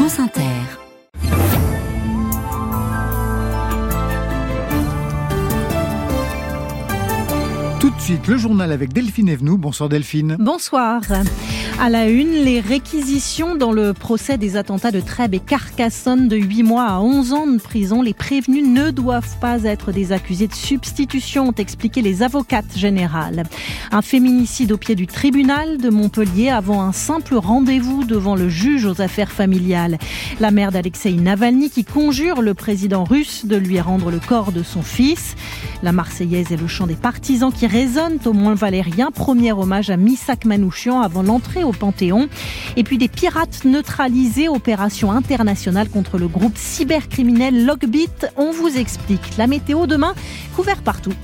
France Inter. Tout de suite, le journal avec Delphine Evenou. Bonsoir Delphine. Bonsoir. À la une, les réquisitions dans le procès des attentats de Trèbes et Carcassonne de 8 mois à 11 ans de prison. Les prévenus ne doivent pas être des accusés de substitution, ont expliqué les avocates générales. Un féminicide au pied du tribunal de Montpellier avant un simple rendez-vous devant le juge aux affaires familiales. La mère d'Alexeï Navalny qui conjure le président russe de lui rendre le corps de son fils. La Marseillaise et le chant des partisans qui résonnent au Mont-Valérien. Premier hommage à Missak Manouchian avant l'entrée au Panthéon. Et puis des pirates neutralisés, opération internationale contre le groupe cybercriminel Lockbit. On vous explique. La météo demain, couvert partout.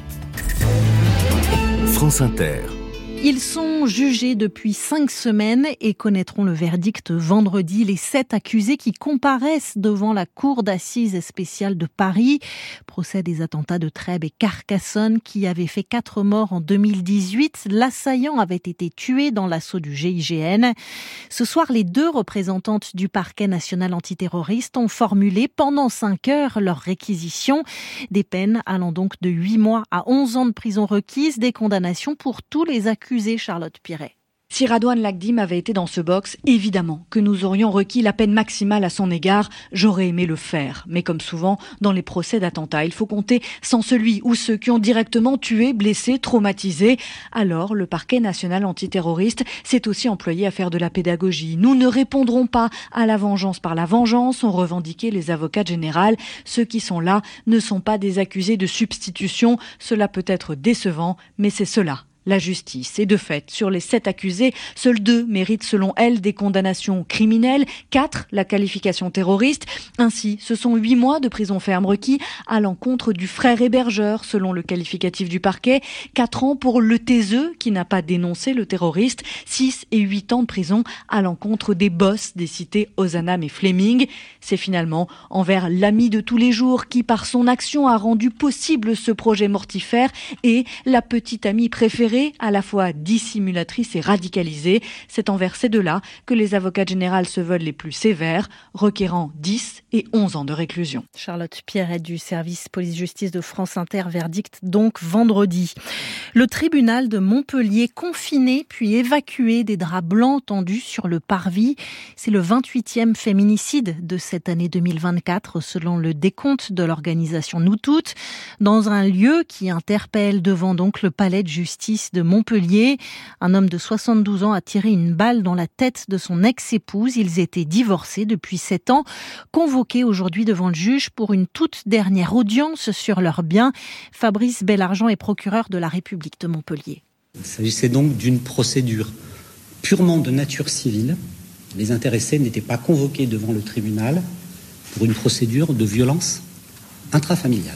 France Inter. Ils sont jugés depuis 5 semaines et connaîtront le verdict vendredi. Les 7 accusés qui comparaissent devant la cour d'assises spéciale de Paris. Procès des attentats de Trèbes et Carcassonne qui avaient fait 4 morts en 2018. L'assaillant avait été tué dans l'assaut du GIGN. Ce soir, les 2 représentantes du parquet national antiterroriste ont formulé pendant 5 heures leur réquisition. Des peines allant donc de 8 mois à 11 ans de prison requises. Des condamnations pour tous les accusés. Charlotte Piret. Si Radouane Lagdim avait été dans ce box, évidemment que nous aurions requis la peine maximale à son égard. J'aurais aimé le faire. Mais comme souvent, dans les procès d'attentats, il faut compter sans celui ou ceux qui ont directement tué, blessé, traumatisé. Alors, le parquet national antiterroriste s'est aussi employé à faire de la pédagogie. Nous ne répondrons pas à la vengeance par la vengeance, ont revendiqué les avocats généraux. Ceux qui sont là ne sont pas des accusés de substitution. Cela peut être décevant, mais c'est cela. La justice. Et de fait, sur les 7 accusés, seuls 2 méritent selon elle des condamnations criminelles, 4 la qualification terroriste. Ainsi, ce sont 8 mois de prison ferme requis à l'encontre du frère hébergeur, selon le qualificatif du parquet, 4 ans pour le taiseux qui n'a pas dénoncé le terroriste, 6 et 8 ans de prison à l'encontre des boss des cités Ozanam et Fleming. C'est finalement envers l'ami de tous les jours qui, par son action, a rendu possible ce projet mortifère et la petite amie préférée, à la fois dissimulatrice et radicalisée. C'est envers ces 2-là que les avocats généraux se veulent les plus sévères, requérant 10 et 11 ans de réclusion. Charlotte Pierret du service police-justice de France Inter, verdict donc vendredi. Le tribunal de Montpellier confiné puis évacué, des draps blancs tendus sur le parvis. C'est le 28e féminicide de cette année 2024 selon le décompte de l'organisation Nous Toutes, dans un lieu qui interpelle devant donc le palais de justice de Montpellier. Un homme de 72 ans a tiré une balle dans la tête de son ex-épouse. Ils étaient divorcés depuis 7 ans, convoqués aujourd'hui devant le juge pour une toute dernière audience sur leurs biens. Fabrice Bellargent est procureur de la République de Montpellier. Il s'agissait donc d'une procédure purement de nature civile. Les intéressés n'étaient pas convoqués devant le tribunal pour une procédure de violence intrafamiliale.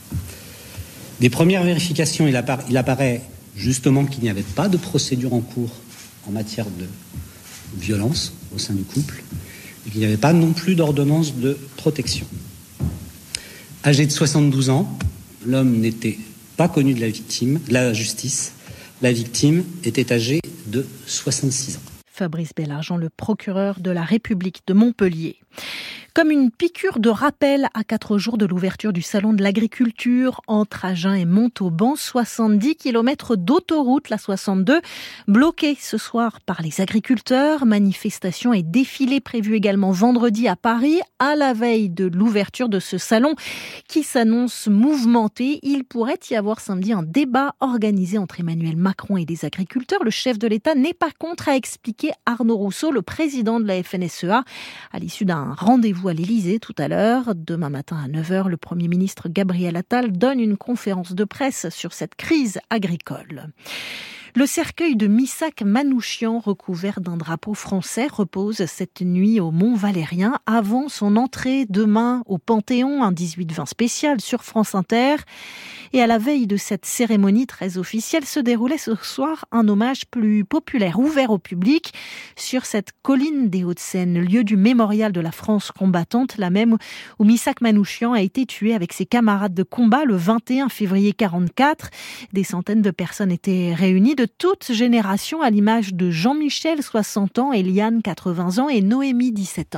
Des premières vérifications, il apparaît justement qu'il n'y avait pas de procédure en cours en matière de violence au sein du couple et qu'il n'y avait pas non plus d'ordonnance de protection. Âgé de 72 ans, l'homme n'était pas connu de la justice. La victime était âgée de 66 ans. Fabrice Bellargent, le procureur de la République de Montpellier. Comme une piqûre de rappel à 4 jours de l'ouverture du salon de l'agriculture entre Agen et Montauban, 70 km d'autoroute, la 62, bloquée ce soir par les agriculteurs. Manifestations et défilés prévus également vendredi à Paris, à la veille de l'ouverture de ce salon qui s'annonce mouvementé. Il pourrait y avoir samedi un débat organisé entre Emmanuel Macron et des agriculteurs. Le chef de l'État n'est pas contre, a expliqué Arnaud Rousseau, le président de la FNSEA, à l'issue d'un rendez-vous à l'Élysée tout à l'heure. Demain matin à 9h, le Premier ministre Gabriel Attal donne une conférence de presse sur cette crise agricole. Le cercueil de Missak Manouchian, recouvert d'un drapeau français, repose cette nuit au Mont-Valérien avant son entrée demain au Panthéon, un 18-20 spécial sur France Inter. Et à la veille de cette cérémonie très officielle, se déroulait ce soir un hommage plus populaire, ouvert au public, sur cette colline des Hauts-de-Seine, lieu du mémorial de la France combattante, la même où Missak Manouchian a été tué avec ses camarades de combat le 21 février 1944. Des centaines de personnes étaient réunies de toutes générations, à l'image de Jean-Michel, 60 ans, Eliane, 80 ans et Noémie, 17 ans.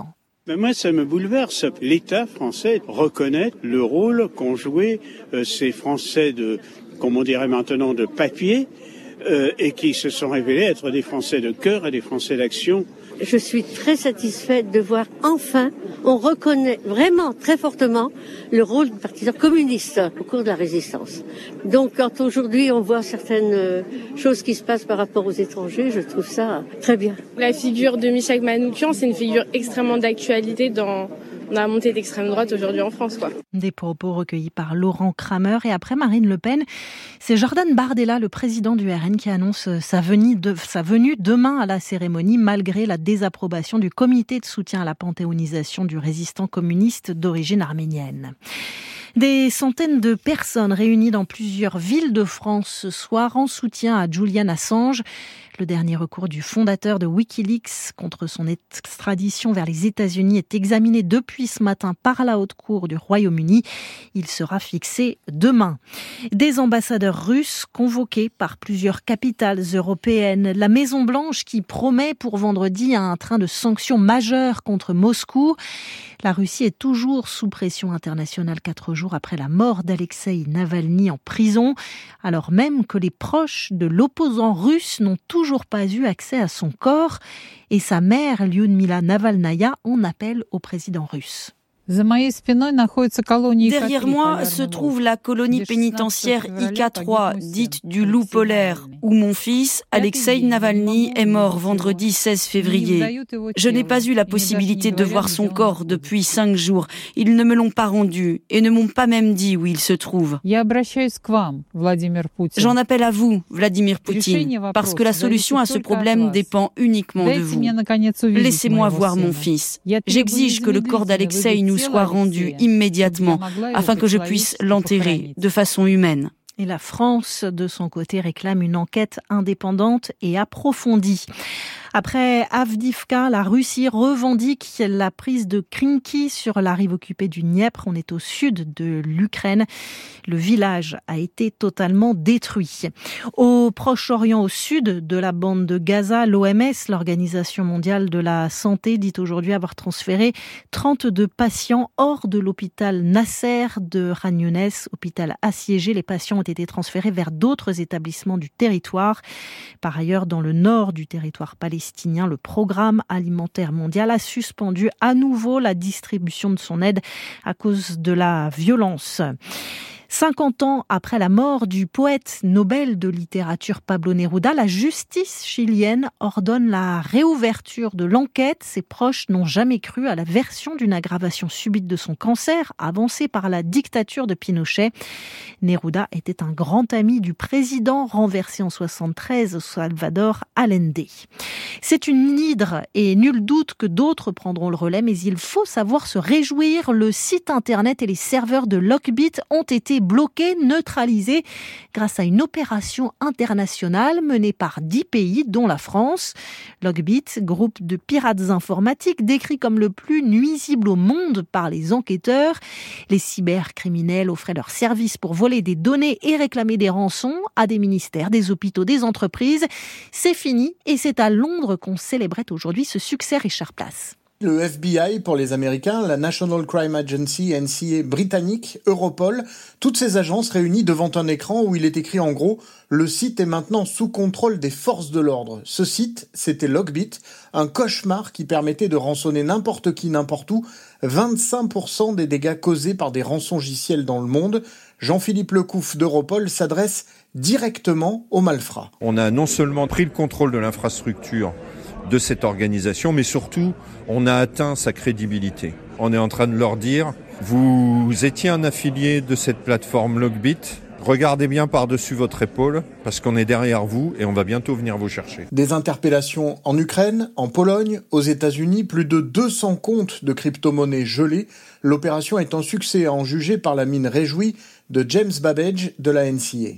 Ben moi, ça me bouleverse. L'État français reconnaît le rôle qu'ont joué ces Français comme on dirait maintenant, de papier, et qui se sont révélés être des Français de cœur et des Français d'action. Je suis très satisfaite de voir enfin, on reconnaît vraiment très fortement le rôle du parti communiste au cours de la résistance. Donc quand aujourd'hui on voit certaines choses qui se passent par rapport aux étrangers, je trouve ça très bien. La figure de Michel Manouchian, c'est une figure extrêmement d'actualité dans la montée d'extrême droite aujourd'hui en France, quoi. Des propos recueillis par Laurent Kramer. Et après Marine Le Pen, c'est Jordan Bardella, le président du RN, qui annonce sa venue demain à la cérémonie, malgré la désapprobation du comité de soutien à la panthéonisation du résistant communiste d'origine arménienne. Des centaines de personnes réunies dans plusieurs villes de France ce soir en soutien à Julian Assange. Le dernier recours du fondateur de Wikileaks contre son extradition vers les États-Unis est examiné depuis ce matin par la Haute Cour du Royaume-Uni. Il sera fixé demain. Des ambassadeurs russes convoqués par plusieurs capitales européennes. La Maison-Blanche qui promet pour vendredi un train de sanctions majeures contre Moscou. La Russie est toujours sous pression internationale 4 jours après la mort d'Alexeï Navalny en prison, alors même que les proches de l'opposant russe n'ont toujours pas eu accès à son corps, et sa mère, Lyudmila Navalnaya, en appelle au président russe. Derrière moi se trouve la colonie pénitentiaire IK3, dite du loup polaire, où mon fils, Alexeï Navalny, est mort vendredi 16 février. Je n'ai pas eu la possibilité de voir son corps depuis 5 jours. Ils ne me l'ont pas rendu et ne m'ont pas même dit où il se trouve. J'en appelle à vous, Vladimir Poutine, parce que la solution à ce problème dépend uniquement de vous. Laissez-moi voir mon fils. J'exige que le corps d'Alexeï nous soit rendu immédiatement afin que je puisse l'enterrer de façon humaine. Et la France, de son côté, réclame une enquête indépendante et approfondie. Après Avdiivka, la Russie revendique la prise de Krinky sur la rive occupée du Dniepr. On est au sud de l'Ukraine. Le village a été totalement détruit. Au Proche-Orient, au sud de la bande de Gaza, l'OMS, l'Organisation mondiale de la santé, dit aujourd'hui avoir transféré 32 patients hors de l'hôpital Nasser de Khan Younes, hôpital assiégé. Les patients ont été transférés vers d'autres établissements du territoire. Par ailleurs, dans le nord du territoire palestinien, le Programme alimentaire mondial a suspendu à nouveau la distribution de son aide à cause de la violence. 50 ans après la mort du poète Nobel de littérature Pablo Neruda, la justice chilienne ordonne la réouverture de l'enquête. Ses proches n'ont jamais cru à la version d'une aggravation subite de son cancer, avancée par la dictature de Pinochet. Neruda était un grand ami du président renversé en 1973, Salvador Allende. C'est une hydre et nul doute que d'autres prendront le relais, mais il faut savoir se réjouir. Le site internet et les serveurs de Lockbit ont été bloqués, neutralisés grâce à une opération internationale menée par 10 pays, dont la France. Lockbit, groupe de pirates informatiques décrit comme le plus nuisible au monde par les enquêteurs. Les cybercriminels offraient leurs services pour voler des données et réclamer des rançons à des ministères, des hôpitaux, des entreprises. C'est fini et c'est à Londres qu'on célébrait aujourd'hui ce succès. Richard Place. Le FBI pour les Américains, la National Crime Agency, NCA britannique, Europol, toutes ces agences réunies devant un écran où il est écrit en gros « Le site est maintenant sous contrôle des forces de l'ordre ». Ce site, c'était Lockbit, un cauchemar qui permettait de rançonner n'importe qui, n'importe où, 25% des dégâts causés par des rançongiciels dans le monde. Jean-Philippe Lecouf d'Europol s'adresse directement aux malfrats. On a non seulement pris le contrôle de l'infrastructure de cette organisation, mais surtout, on a atteint sa crédibilité. On est en train de leur dire, vous étiez un affilié de cette plateforme Lockbit, regardez bien par-dessus votre épaule, parce qu'on est derrière vous et on va bientôt venir vous chercher. Des interpellations en Ukraine, en Pologne, aux États-Unis, plus de 200 comptes de crypto-monnaies gelés. L'opération est un succès à en juger par la mine réjouie de James Babbage de la NCA.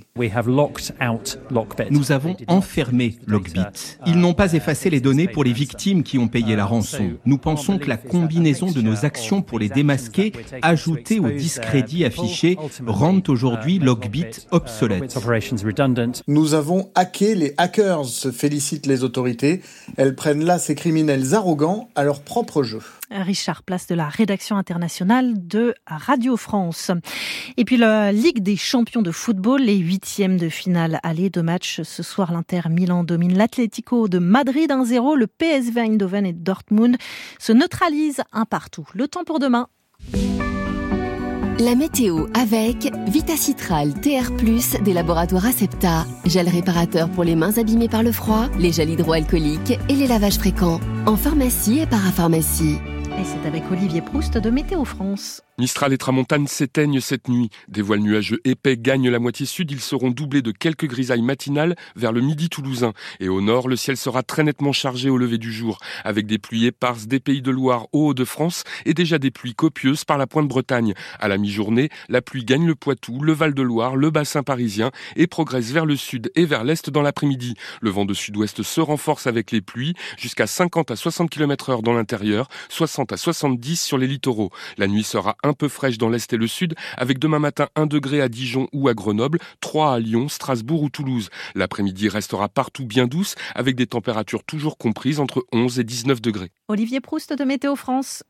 Nous avons enfermé Lockbit. Ils n'ont pas effacé les données pour les victimes qui ont payé la rançon. Nous pensons que la combinaison de nos actions pour les démasquer, ajoutées au discrédit affiché, rendent aujourd'hui Lockbit obsolète. Nous avons hacké les hackers, se félicitent les autorités. Elles prennent là ces criminels arrogants à leur propre jeu. Richard Place de la rédaction internationale de Radio France. Et puis la Ligue des champions de football, les 8e de finale aller, 2 matchs ce soir. L'Inter Milan domine l'Atlético de Madrid 1-0. Le PSV Eindhoven et Dortmund se neutralisent 1-1. Le temps pour demain. La météo avec Vitacitral TR+, des laboratoires Acepta. Gel réparateur pour les mains abîmées par le froid, les gels hydroalcooliques et les lavages fréquents. En pharmacie et parapharmacie. Et c'est avec Olivier Proust de Météo France. Mistral et Tramontane s'éteignent cette nuit. Des voiles nuageux épais gagnent la moitié sud. Ils seront doublés de quelques grisailles matinales vers le midi toulousain. Et au nord, le ciel sera très nettement chargé au lever du jour, avec des pluies éparses des Pays de Loire aux Hauts-de-France et déjà des pluies copieuses par la Pointe-Bretagne. À la mi-journée, la pluie gagne le Poitou, le Val-de-Loire, le bassin parisien et progresse vers le sud et vers l'est dans l'après-midi. Le vent de sud-ouest se renforce avec les pluies, jusqu'à 50 à 60 km/h dans l'intérieur, 60 à 70 sur les littoraux. La nuit sera un peu fraîche dans l'est et le sud, avec demain matin 1 degré à Dijon ou à Grenoble, 3 à Lyon, Strasbourg ou Toulouse. L'après-midi restera partout bien douce, avec des températures toujours comprises entre 11 et 19 degrés. Olivier Proust de Météo France.